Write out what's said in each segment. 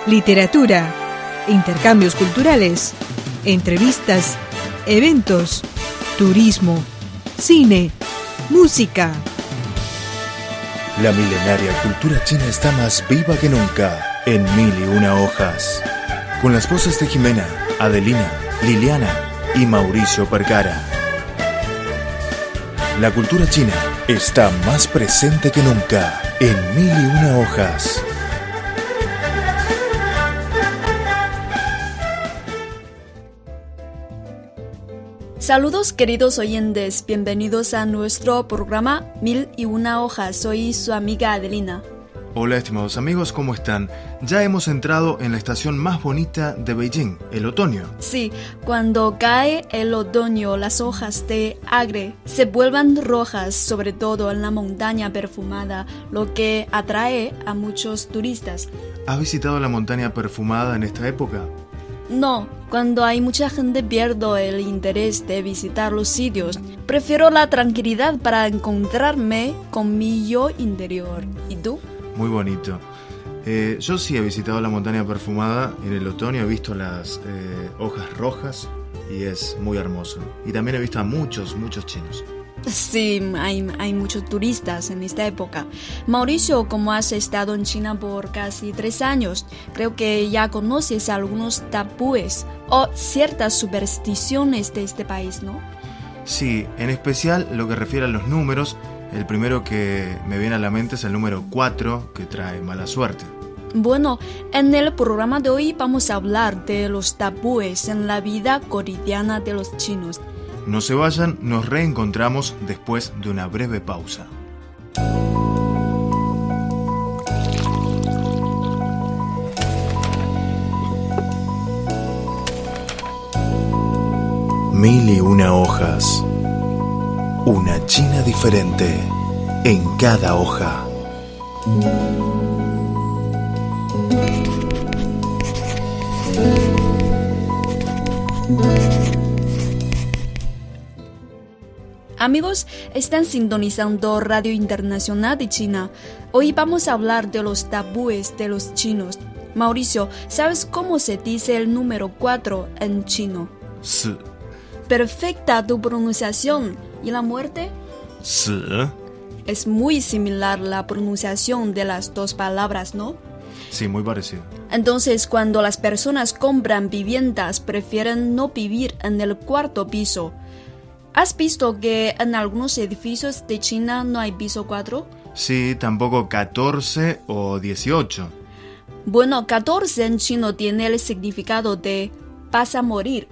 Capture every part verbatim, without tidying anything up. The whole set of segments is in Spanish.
literatura, intercambios culturales, entrevistas, eventos, turismo, cine, música. La milenaria cultura china está más viva que nunca en Mil y Una Hojas. Con las voces de Jimena, Adelina, Liliana y Mauricio Percara. La cultura china está más presente que nunca en Mil y Una Hojas. Saludos queridos oyentes, bienvenidos a nuestro programa Mil y Una Hojas. Soy su amiga Adelina. Hola estimados amigos, ¿cómo están? Ya hemos entrado en la estación más bonita de Beijing, el otoño. Sí, cuando cae el otoño, las hojas de agre se vuelven rojas, sobre todo en la montaña perfumada, lo que atrae a muchos turistas. ¿Has visitado la montaña perfumada en esta época? No, cuando hay mucha gente pierdo el interés de visitar los sitios. Prefiero la tranquilidad para encontrarme con mi yo interior. ¿Y tú? Muy bonito. Eh, yo sí he visitado la montaña perfumada en el otoño, he visto las eh, hojas rojas y es muy hermoso. Y también he visto a muchos, muchos chinos. Sí, hay, hay muchos turistas en esta época. Mauricio, como has estado en China por casi tres años, creo que ya conoces algunos tabúes o ciertas supersticiones de este país, ¿no? Sí, en especial lo que refiere a los números. El primero que me viene a la mente es el número cuatro, que trae mala suerte. Bueno, en el programa de hoy vamos a hablar de los tabúes en la vida cotidiana de los chinos. No se vayan, nos reencontramos después de una breve pausa. Mil y una hojas. Una China diferente en cada hoja. Amigos, están sintonizando Radio Internacional de China. Hoy vamos a hablar de los tabúes de los chinos. Mauricio, ¿sabes cómo se dice el número cuatro en chino? Sí. Perfecta tu pronunciación. ¿Y la muerte? Sí. Es muy similar la pronunciación de las dos palabras, ¿no? Sí, muy parecido. Entonces, cuando las personas compran viviendas, prefieren no vivir en el cuarto piso. ¿Has visto que en algunos edificios de China no hay piso cuatro? Sí, tampoco catorce o dieciocho. Bueno, catorce en chino tiene el significado de vas a morir.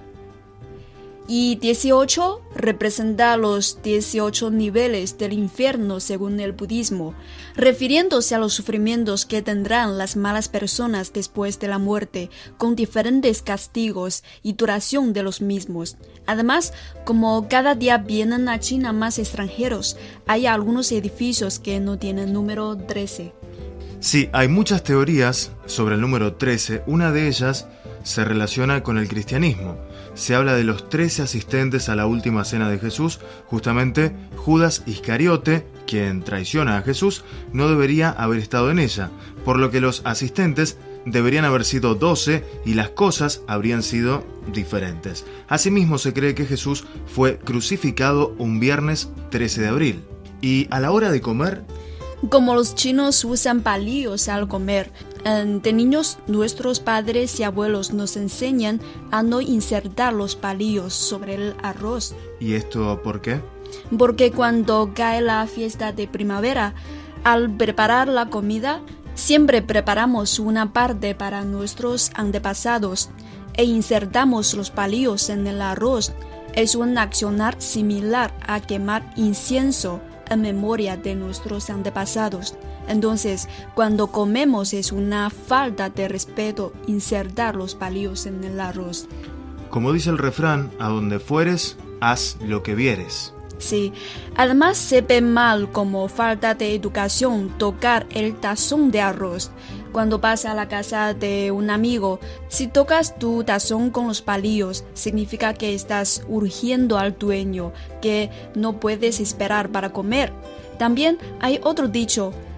Y dieciocho representa los dieciocho niveles del infierno según el budismo, refiriéndose a los sufrimientos que tendrán las malas personas después de la muerte, con diferentes castigos y duración de los mismos. Además, como cada día vienen a China más extranjeros, hay algunos edificios que no tienen número trece. Sí, hay muchas teorías sobre el número trece. Una de ellas se relaciona con el cristianismo. Se habla de los trece asistentes a la última cena de Jesús. Justamente Judas Iscariote, quien traiciona a Jesús, no debería haber estado en ella, por lo que los asistentes deberían haber sido doce y las cosas habrían sido diferentes. Asimismo, se cree que Jesús fue crucificado un viernes trece de abril. Y a la hora de comer, como los chinos usan palillos al comer, de niños nuestros padres y abuelos nos enseñan a no insertar los palillos sobre el arroz. ¿Y esto por qué? Porque cuando cae la fiesta de primavera, al preparar la comida, siempre preparamos una parte para nuestros antepasados e insertamos los palillos en el arroz. Es un accionar similar a quemar incienso en memoria de nuestros antepasados. Entonces, cuando comemos es una falta de respeto insertar los palillos en el arroz. Como dice el refrán, a donde fueres, haz lo que vieres. Sí, además se ve mal como falta de educación tocar el tazón de arroz. Cuando vas a la casa de un amigo, si tocas tu tazón con los palillos, significa que estás urgiendo al dueño, que no puedes esperar para comer. También hay otro dicho,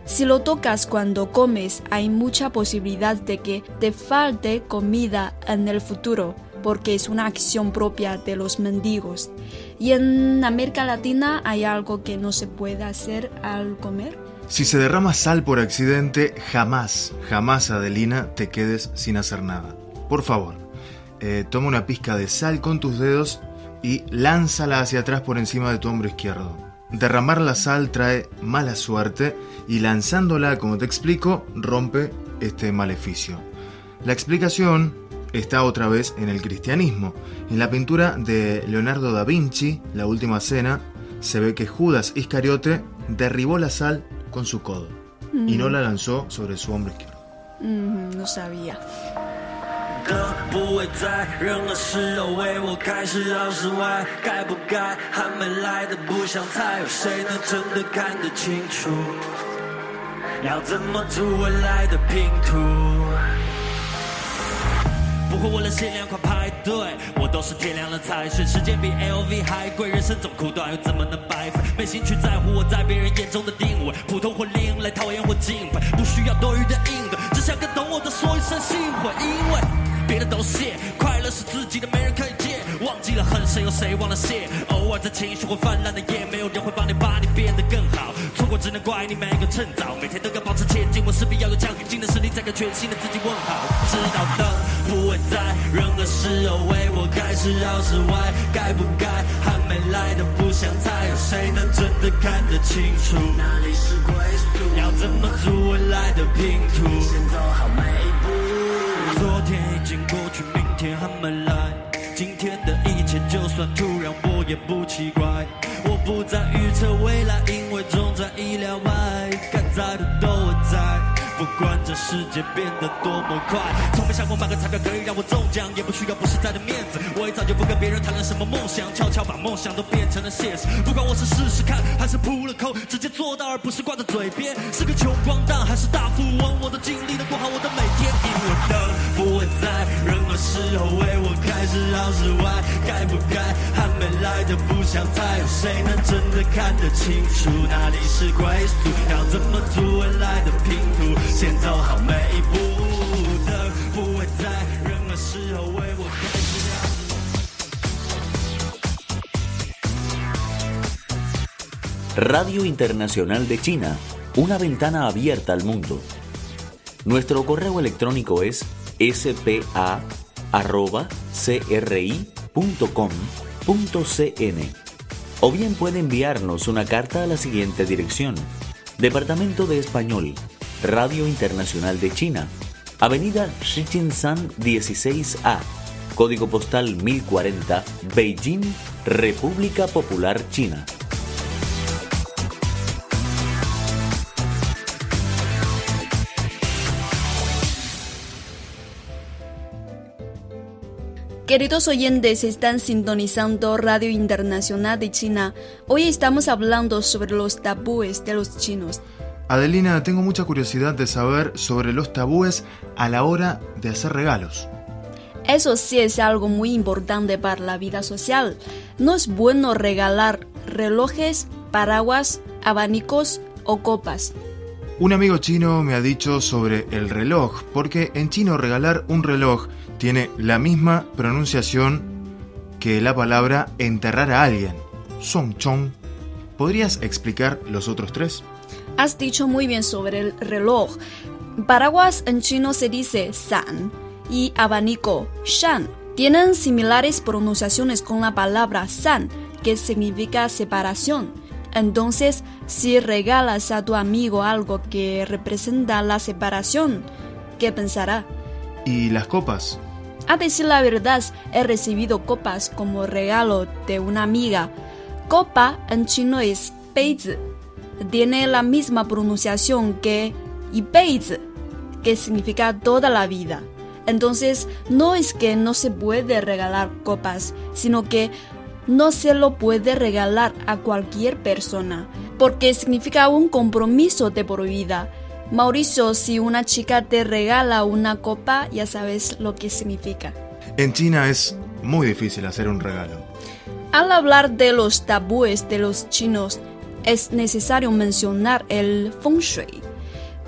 Si lo tocas cuando comes, hay mucha posibilidad de que te falte comida en el futuro, porque es una acción propia de los mendigos. ¿Y en América Latina hay algo que no se puede hacer al comer? Si se derrama sal por accidente, jamás, jamás, Adelina, te quedes sin hacer nada. Por favor, eh, toma una pizca de sal con tus dedos y lánzala hacia atrás por encima de tu hombro izquierdo. Derramar la sal trae mala suerte y lanzándola, como te explico, rompe este maleficio. La explicación está otra vez en el cristianismo. En la pintura de Leonardo da Vinci, La Última Cena, se ve que Judas Iscariote derribó la sal con su codo mm. y no la lanzó sobre su hombro izquierdo. Mm, no sabía. 的不会在任何时候为我开始绕室外，该不该还没来的不想猜，有谁能真的看得清楚？要怎么组未来的拼图？不会为了限量款排队，我都是天亮了才睡。时间比 L V 还贵，人生这么苦短，又怎么能白费？没兴趣在乎我在别人眼中的定位，普通或另类，讨厌或敬佩，不需要多余的应对，只想跟懂我的说一声幸会，因为别的都谢，快乐是自己的，没人可以借。忘记了恨谁，有谁忘了谢？偶尔在情绪会泛滥的夜，没有人会帮你把你变得更好。错过只能怪你没有趁早，每天都要保持前进，我势必要有强硬劲的实力，再跟全新的自己问好。知道灯不会在任何时候为我开始绕室外，该不该还没来的不想猜，有谁能真的看得清楚？哪里是归宿？要怎么组未来的拼图？先走好每一步。昨天已经过去，明天还没来，今天的一切就算突然我也不奇怪。我不再预测未来，因为总在意料外，该在的都会在，不管这世界变得多么快。从没想过买个彩票可以让我中奖，也不需要不实在的面子，我也早就不跟别人谈论什么梦想，悄悄把梦想都变成了现实。不管我是试试看还是扑了空，直接做到而不是挂在嘴边，是个穷光蛋还是大富翁，我都尽力的过好我的每天。因为灯不会在任何时候为我开始绕室外，该不该还没来的不想猜，有谁能真的看得清楚？哪里是归宿？要怎么组未来的拼图？先走好每一步，灯不会在任何时候为我开始绕室外。 Radio Internacional de China, una ventana abierta al mundo. Nuestro correo electrónico es ese pe a arroba ce erre i punto com punto ce ene o bien puede enviarnos una carta a la siguiente dirección: Departamento de Español, Radio Internacional de China, Avenida Shijinshan dieciséis A, Código Postal mil cuarenta, Beijing, República Popular China. Queridos oyentes, están sintonizando Radio Internacional de China. Hoy estamos hablando sobre los tabúes de los chinos. Adelina, tengo mucha curiosidad de saber sobre los tabúes a la hora de hacer regalos. Eso sí es algo muy importante para la vida social. No es bueno regalar relojes, paraguas, abanicos o copas. Un amigo chino me ha dicho sobre el reloj, porque en chino regalar un reloj tiene la misma pronunciación que la palabra enterrar a alguien, song chong. ¿Podrías explicar los otros tres? Has dicho muy bien sobre el reloj. Paraguas en chino se dice san y abanico, shan. Tienen similares pronunciaciones con la palabra san, que significa separación. Entonces, si regalas a tu amigo algo que representa la separación, ¿qué pensará? ¿Y las copas? A decir la verdad, he recibido copas como regalo de una amiga. Copa en chino es beizi. Tiene la misma pronunciación que ibeizi, que significa toda la vida. Entonces, no es que no se puede regalar copas, sino que no se lo puede regalar a cualquier persona, porque significa un compromiso de por vida. Mauricio, si una chica te regala una copa, ya sabes lo que significa. En China es muy difícil hacer un regalo. Al hablar de los tabúes de los chinos, es necesario mencionar el feng shui.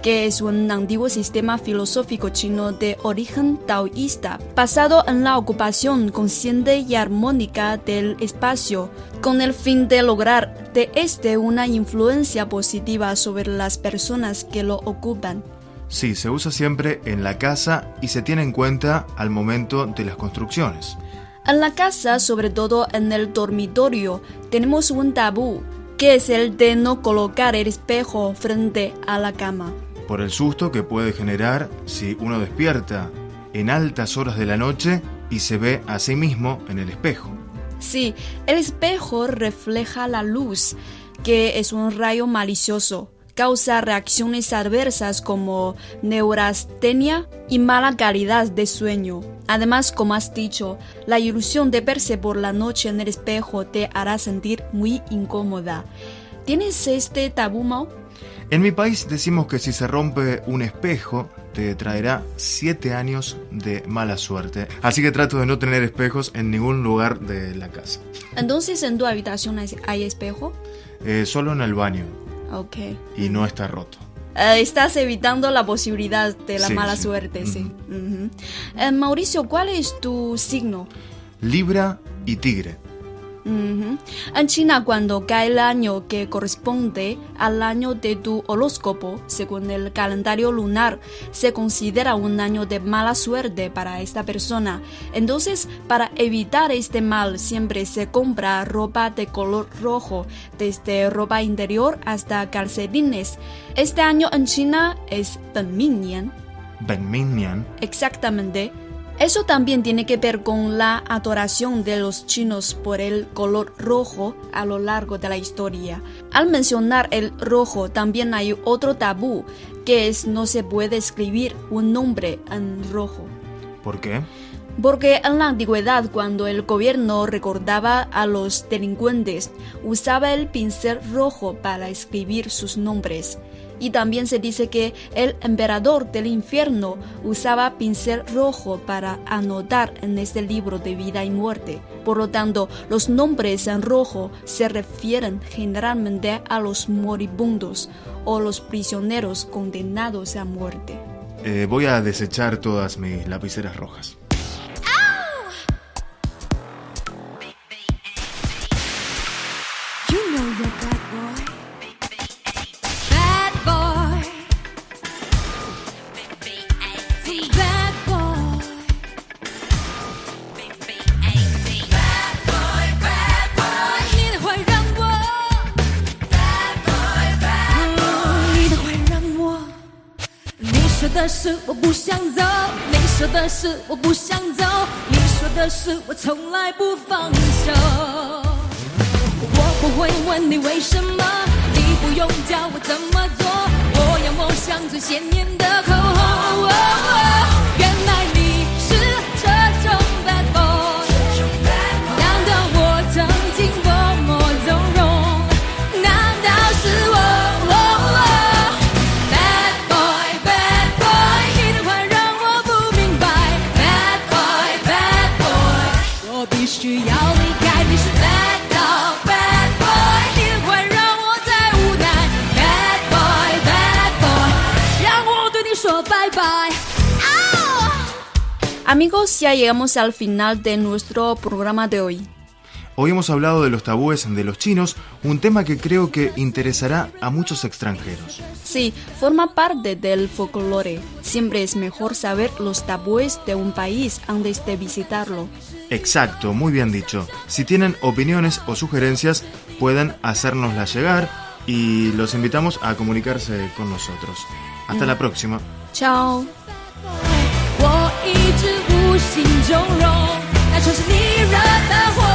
que es un antiguo sistema filosófico chino de origen taoísta, basado en la ocupación consciente y armónica del espacio, con el fin de lograr de este una influencia positiva sobre las personas que lo ocupan. Sí, se usa siempre en la casa y se tiene en cuenta al momento de las construcciones. En la casa, sobre todo en el dormitorio, tenemos un tabú, que es el de no colocar el espejo frente a la cama. Por el susto que puede generar si uno despierta en altas horas de la noche y se ve a sí mismo en el espejo. Sí, el espejo refleja la luz, que es un rayo malicioso. Causa reacciones adversas como neurastenia y mala calidad de sueño. Además, como has dicho, la ilusión de verse por la noche en el espejo te hará sentir muy incómoda. ¿Tienes este tabú, Mao? En mi país decimos que si se rompe un espejo, te traerá siete años de mala suerte. Así que trato de no tener espejos en ningún lugar de la casa. Entonces, ¿en tu habitación hay, hay espejo? Eh, solo en el baño. Ok. Y no está roto. Uh, estás evitando la posibilidad de la sí, mala sí. suerte, uh-huh. sí. Uh-huh. Uh, Mauricio, ¿cuál es tu signo? Libra y Tigre. Uh-huh. En China, cuando cae el año que corresponde al año de tu horóscopo, según el calendario lunar, se considera un año de mala suerte para esta persona. Entonces, para evitar este mal, siempre se compra ropa de color rojo, desde ropa interior hasta calcetines. Este año en China es Benmingnian. Benmingnian. Exactamente. Eso también tiene que ver con la adoración de los chinos por el color rojo a lo largo de la historia. Al mencionar el rojo, también hay otro tabú, que es no se puede escribir un nombre en rojo. ¿Por qué? Porque en la antigüedad, cuando el gobierno recordaba a los delincuentes, usaba el pincel rojo para escribir sus nombres. Y también se dice que el emperador del infierno usaba pincel rojo para anotar en este libro de vida y muerte. Por lo tanto, los nombres en rojo se refieren generalmente a los moribundos o los prisioneros condenados a muerte. Eh, voy a desechar todas mis lapiceras rojas. 的是我不想走，你说的是我不想走，你说的是我从来不放手。我不会问你为什么，你不用教我怎么做，我要抹上最鲜艳的口红。原来你是这种 bad boy， 难道我曾经多么纵容？难道是我？需要离开，你是 bad dog bad boy， 你的坏让我太无奈 bad boy bad boy， 让我对你说拜拜。 Amigos, ya llegamos al final de nuestro programa de hoy. Hoy hemos hablado de los tabúes de los chinos, un tema que creo que interesará a muchos extranjeros. Sí, forma parte del folclore. Siempre es mejor saber los tabúes de un país antes de visitarlo. Exacto, muy bien dicho. Si tienen opiniones o sugerencias, pueden hacérnoslas llegar y los invitamos a comunicarse con nosotros. Hasta mm. la próxima. Chao. 我一直无心中容，那就是你惹的祸。